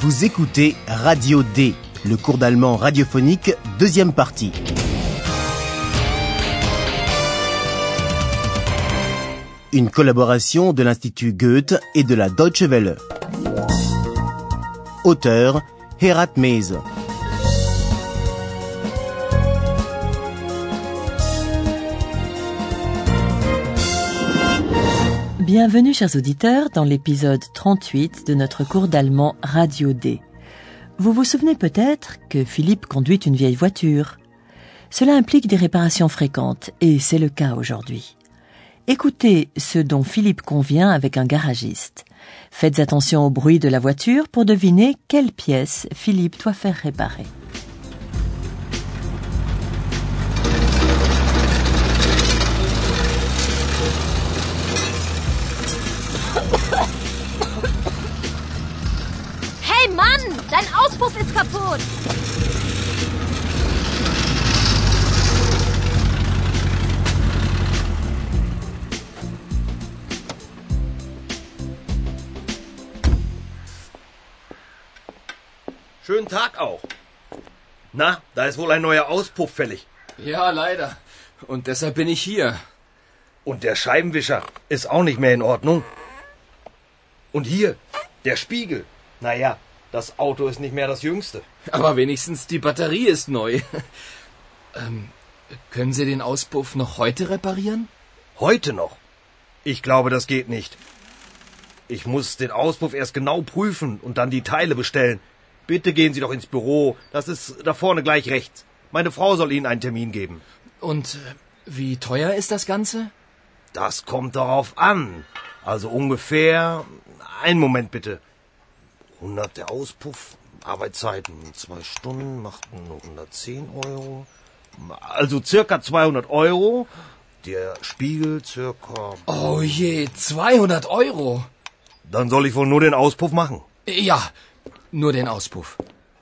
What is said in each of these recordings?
Vous écoutez Radio D, le cours d'allemand radiophonique, deuxième partie. Une collaboration de l'Institut Goethe et de la Deutsche Welle. Auteur, Herat Mese. Bienvenue, chers auditeurs, dans l'épisode 38 de notre cours d'allemand Radio D. Vous vous souvenez peut-être que Philippe conduit une vieille voiture. Cela implique des réparations fréquentes, et c'est le cas aujourd'hui. Écoutez ce dont Philippe convient avec un garagiste. Faites attention au bruit de la voiture pour deviner quelle pièce Philippe doit faire réparer. Hey Mann, dein Auspuff ist kaputt. Schönen Tag auch. Na, da ist wohl ein neuer Auspuff fällig. Ja, leider. Und deshalb bin ich hier. Und der Scheibenwischer ist auch nicht mehr in Ordnung. Und hier, der Spiegel. Naja, das Auto ist nicht mehr das Jüngste. Aber wenigstens die Batterie ist neu. Können Sie den Auspuff noch heute reparieren? Heute noch? Ich glaube, das geht nicht. Ich muss den Auspuff erst genau prüfen und dann die Teile bestellen. Bitte gehen Sie doch ins Büro. Das ist da vorne gleich rechts. Meine Frau soll Ihnen einen Termin geben. Und wie teuer ist das Ganze? Das kommt darauf an. Also ungefähr... Einen Moment bitte. 100 der Auspuff, Arbeitszeiten 2 Stunden, macht nur 110 Euro. Also circa 200 Euro. Der Spiegel circa... Oh je, 200 Euro. Dann soll ich wohl nur den Auspuff machen. Ja, nur den Auspuff.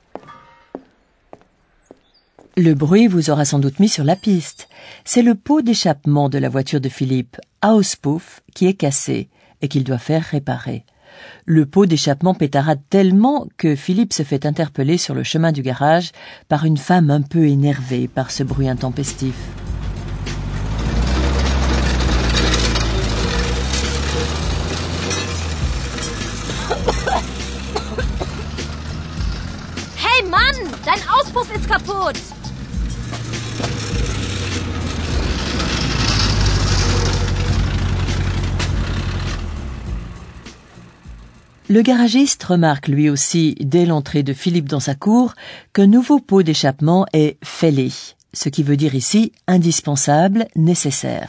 Le bruit vous aura sans doute mis sur la piste. C'est le pot d'échappement de la voiture de Philippe, Auspuff, qui est cassé et qu'il doit faire réparer. Le pot d'échappement pétarade tellement que Philippe se fait interpeller sur le chemin du garage par une femme un peu énervée par ce bruit intempestif. Hey Mann, dein Auspuff ist kaputt. Le garagiste remarque lui aussi, dès l'entrée de Philippe dans sa cour, qu'un nouveau pot d'échappement est fällig, ce qui veut dire ici indispensable, nécessaire.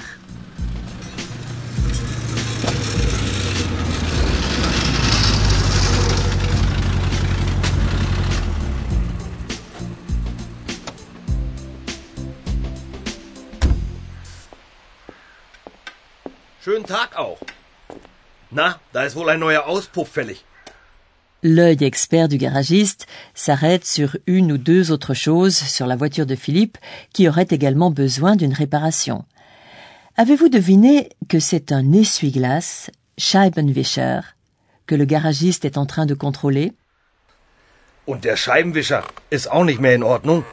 Schönen Tag auch. Na, da ist wohl ein neuer Auspuff fällig. L'œil expert du garagiste s'arrête sur une ou deux autres choses sur la voiture de Philippe qui aurait également besoin d'une réparation. Avez-vous deviné que c'est un essuie-glace, Scheibenwischer, que le garagiste est en train de contrôler? Und der Scheibenwischer ist auch nicht mehr in Ordnung.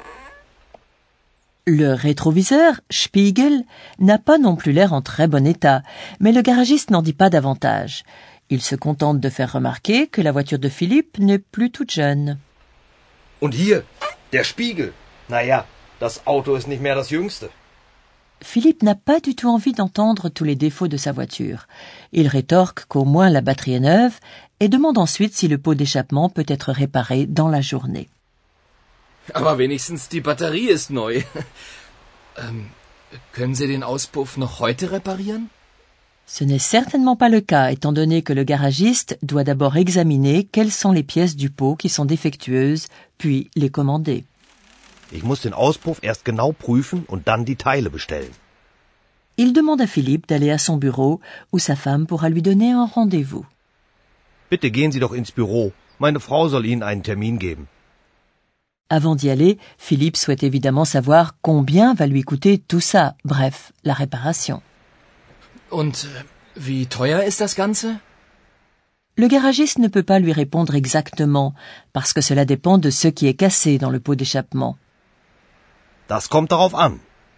Le rétroviseur, Spiegel, n'a pas non plus l'air en très bon état, mais le garagiste n'en dit pas davantage. Il se contente de faire remarquer que la voiture de Philippe n'est plus toute jeune. Und hier, der Spiegel. Naja, das Auto ist nicht mehr das Jüngste. Philippe n'a pas du tout envie d'entendre tous les défauts de sa voiture. Il rétorque qu'au moins la batterie est neuve et demande ensuite si le pot d'échappement peut être réparé dans la journée. Aber wenigstens die Batterie ist neu. Können Sie den Auspuff noch heute reparieren? Ce n'est certainement pas le cas, étant donné que le garagiste doit d'abord examiner quelles sont les pièces du pot qui sont défectueuses, puis les commander. Ich muss den Auspuff erst genau prüfen und dann die Teile bestellen. Il demande à Philippe d'aller à son bureau, où sa femme pourra lui donner un rendez-vous. Bitte gehen Sie doch ins Büro. Meine Frau soll Ihnen einen Termin geben. Avant d'y aller, Philippe souhaite évidemment savoir combien va lui coûter tout ça, bref, la réparation. Und wie teuer ist das Ganze? Le garagiste ne peut pas lui répondre exactement, parce que cela dépend de ce qui est cassé dans le pot d'échappement. Das kommt darauf an.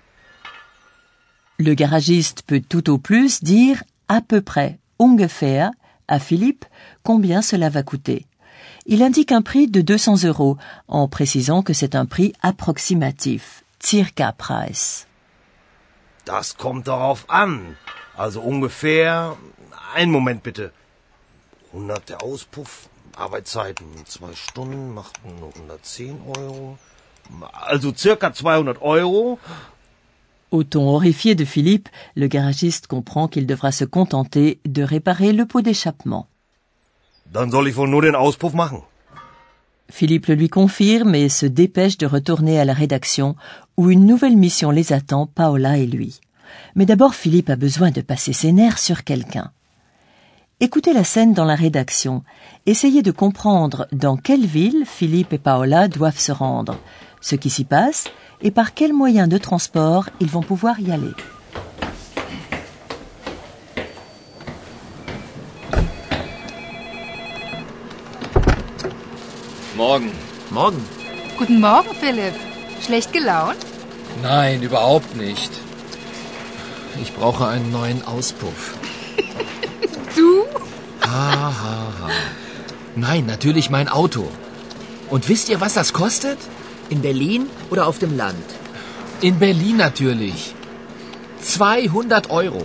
Le garagiste peut tout au plus dire à peu près, ungefähr, à Philippe combien cela va coûter. Il indique un prix de 200 € en précisant que c'est un prix approximatif, circa Preis. Das kommt darauf an. Also ungefähr... Einen Moment bitte. 100 der Auspuff, Arbeitszeiten 2 Stunden, machten 110 €. Also circa 200 €. Au ton horrifié de Philippe, le garagiste comprend qu'il devra se contenter de réparer le pot d'échappement. Dann soll ich wohl nur den Auspuff machen. Philippe le lui confirme et se dépêche de retourner à la rédaction où une nouvelle mission les attend, Paola et lui. Mais d'abord, Philippe a besoin de passer ses nerfs sur quelqu'un. Écoutez la scène dans la rédaction. Essayez de comprendre dans quelle ville Philippe et Paola doivent se rendre, ce qui s'y passe et par quels moyens de transport ils vont pouvoir y aller. Morgen. Morgen. Guten Morgen, Philipp. Schlecht gelaunt? Nein, überhaupt nicht. Ich brauche einen neuen Auspuff. Du? Ha. Nein, natürlich mein Auto. Und wisst ihr, was das kostet? In Berlin oder auf dem Land? In Berlin natürlich. 200 €.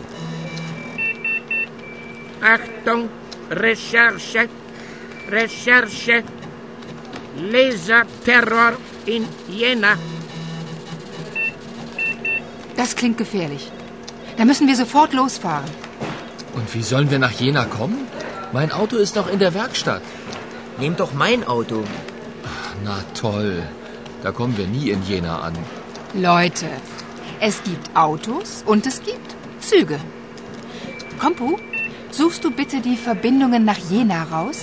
Achtung, Recherche. Laserterror in Jena. Das klingt gefährlich. Da müssen wir sofort losfahren. Und wie sollen wir nach Jena kommen? Mein Auto ist noch in der Werkstatt. Nehmt doch mein Auto. Na toll. Da kommen wir nie in Jena an. Leute, es gibt Autos und es gibt Züge. Kompu, suchst du bitte die Verbindungen nach Jena raus?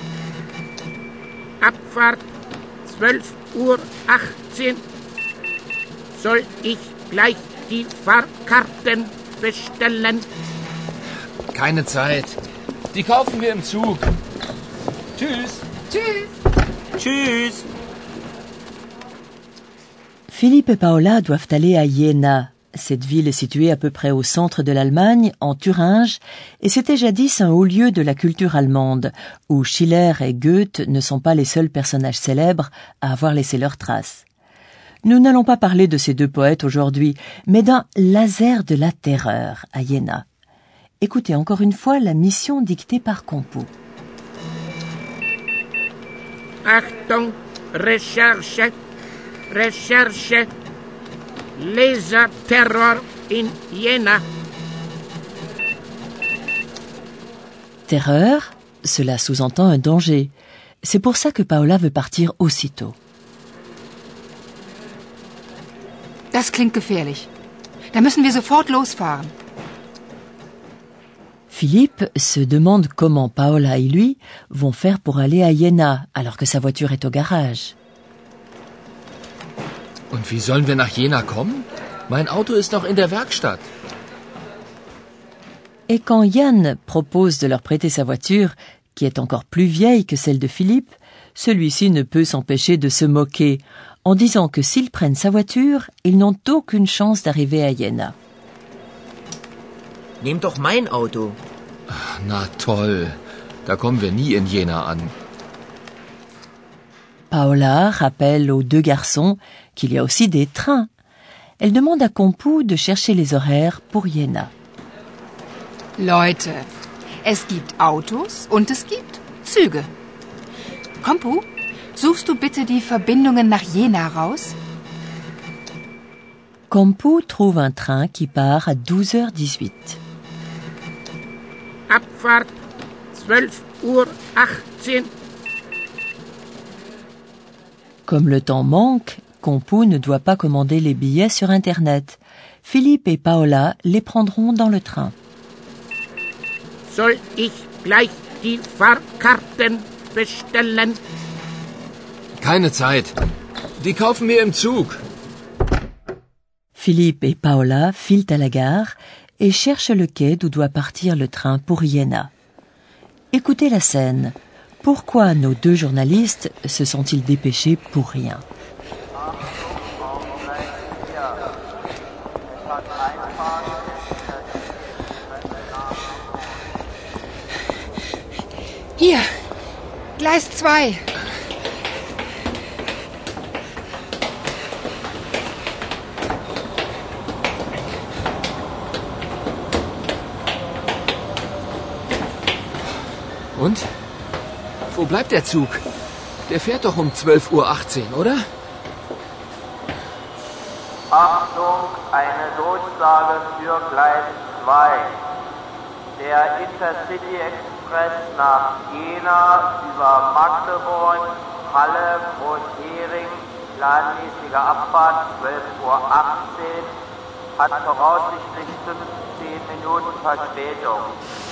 Abfahrt 12:18 Uhr. Soll ich gleich die Fahrkarten bestellen? Keine Zeit. Die kaufen wir im Zug. Tschüss. Tschüss. Tschüss. Philippe et Paola doivent aller à Jena. Cette ville est située à peu près au centre de l'Allemagne, en Thuringe, et c'était jadis un haut lieu de la culture allemande, où Schiller et Goethe ne sont pas les seuls personnages célèbres à avoir laissé leurs traces. Nous n'allons pas parler de ces deux poètes aujourd'hui, mais d'un laser de la terreur à Jena. Écoutez encore une fois la mission dictée par Compo. Achtung, Recherche. Laserterror in Jena. Terreur, cela sous-entend un danger. C'est pour ça que Paola veut partir aussitôt. Das klingt gefährlich. Da müssen wir sofort losfahren. Philippe se demande comment Paola et lui vont faire pour aller à Jena alors que sa voiture est au garage. Und wie sollen wir nach Jena kommen? Mein Auto ist noch in der Werkstatt. Et quand Yann propose de leur prêter sa voiture, qui est encore plus vieille que celle de Philippe, celui-ci ne peut s'empêcher de se moquer, en disant que s'ils prennent sa voiture, ils n'ont aucune chance d'arriver à Jena. Nehmt doch mein Auto. Na toll. Da kommen wir nie in Jena an. Paola rappelle aux deux garçons qu'il y a aussi des trains. Elle demande à Compu de chercher les horaires pour Jena. Leute, es gibt Autos und es gibt Züge. Compu, suchst du bitte die Verbindungen nach Jena raus? Compu trouve un train qui part à 12h18. Abfahrt 12:18 Uhr. Comme le temps manque, Compu ne doit pas commander les billets sur Internet. Philippe et Paola les prendront dans le train. Soll ich gleich die Fahrkarten bestellen? Keine Zeit. Die kaufen wir im Zug. Philippe et Paola filent à la gare et cherchent le quai d'où doit partir le train pour Jena. Écoutez la scène. Pourquoi nos deux journalistes se sont-ils dépêchés pour rien? Hier, Gleis 2. Und? Wo bleibt der Zug? Der fährt doch um 12:18 Uhr, oder? Achtung, eine Durchsage für Gleis 2. Der Intercity Express nach Jena über Magdeburg, Halle, Groß-Hering, planmäßige Abfahrt 12:18 Uhr, hat voraussichtlich 15 Minuten Verspätung.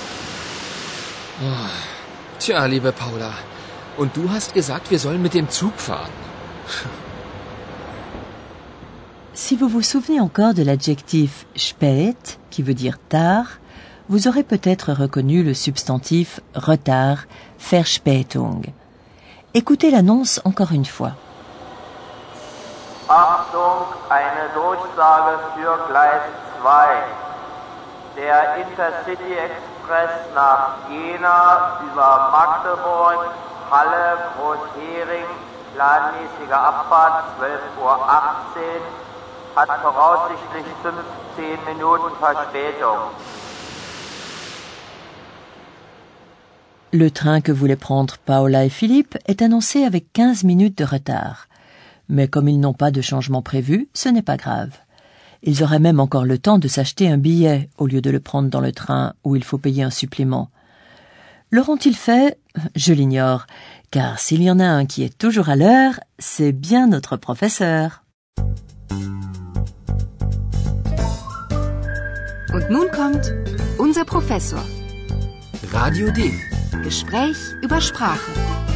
Tja, liebe Paula. Und du hast gesagt, wir sollen mit dem Zug fahren. Si vous vous souvenez encore de l'adjectif spät, qui veut dire tard, vous aurez peut-être reconnu le substantif retard, Verspätung. Écoutez l'annonce encore une fois. Achtung, eine Durchsage für Gleis 2. Der Intercity Express nach Jena über Magdeburg, Halle, Groß-Hering, planmäßige Abfahrt 12:18 Uhr, hat voraussichtlich 15 Minuten Verspätung. Le train que voulaient prendre Paola et Philippe est annoncé avec 15 minutes de retard. Mais comme ils n'ont pas de changement prévu, ce n'est pas grave. Ils auraient même encore le temps de s'acheter un billet au lieu de le prendre dans le train où il faut payer un supplément. L'auront-ils fait? Je l'ignore, car s'il y en a un qui est toujours à l'heure, c'est bien notre professeur. Und nun kommt unser Professor. Radio D. Gespräch über Sprache.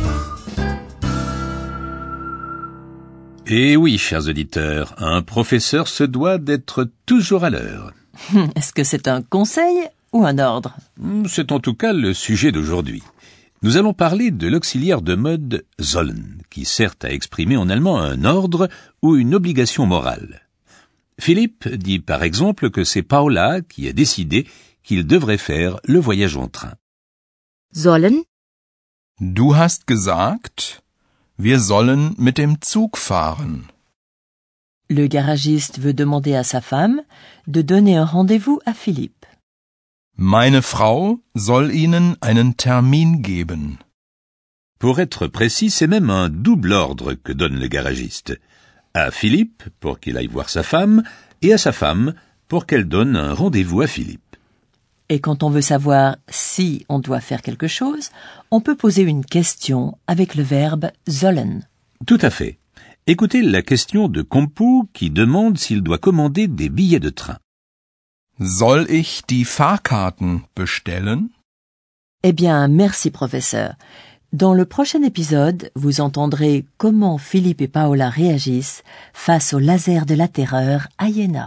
Eh oui, chers auditeurs, un professeur se doit d'être toujours à l'heure. Est-ce que c'est un conseil ou un ordre? C'est en tout cas le sujet d'aujourd'hui. Nous allons parler de l'auxiliaire de mode sollen, qui sert à exprimer en allemand un ordre ou une obligation morale. Philippe dit par exemple que c'est Paola qui a décidé qu'il devrait faire le voyage en train. Sollen? Du hast gesagt, wir sollen mit dem Zug fahren. Le garagiste veut demander à sa femme de donner un rendez-vous à Philippe. Meine Frau soll Ihnen einen Termin geben. Pour être précis, c'est même un double ordre que donne le garagiste. À Philippe, pour qu'il aille voir sa femme, et à sa femme, pour qu'elle donne un rendez-vous à Philippe. Et quand on veut savoir si on doit faire quelque chose, on peut poser une question avec le verbe sollen. Tout à fait. Écoutez la question de Kompu qui demande s'il doit commander des billets de train. Soll ich die Fahrkarten bestellen? Eh bien, merci professeur. Dans le prochain épisode, vous entendrez comment Philippe et Paola réagissent face au laser de la terreur à Jena.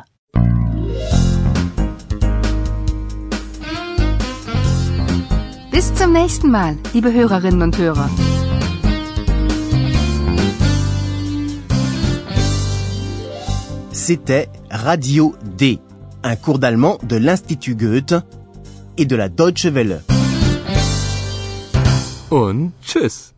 Bis zum nächsten Mal, liebe Hörerinnen und Hörer. C'était Radio D, un cours d'allemand de l'Institut Goethe et de la Deutsche Welle. Und tschüss.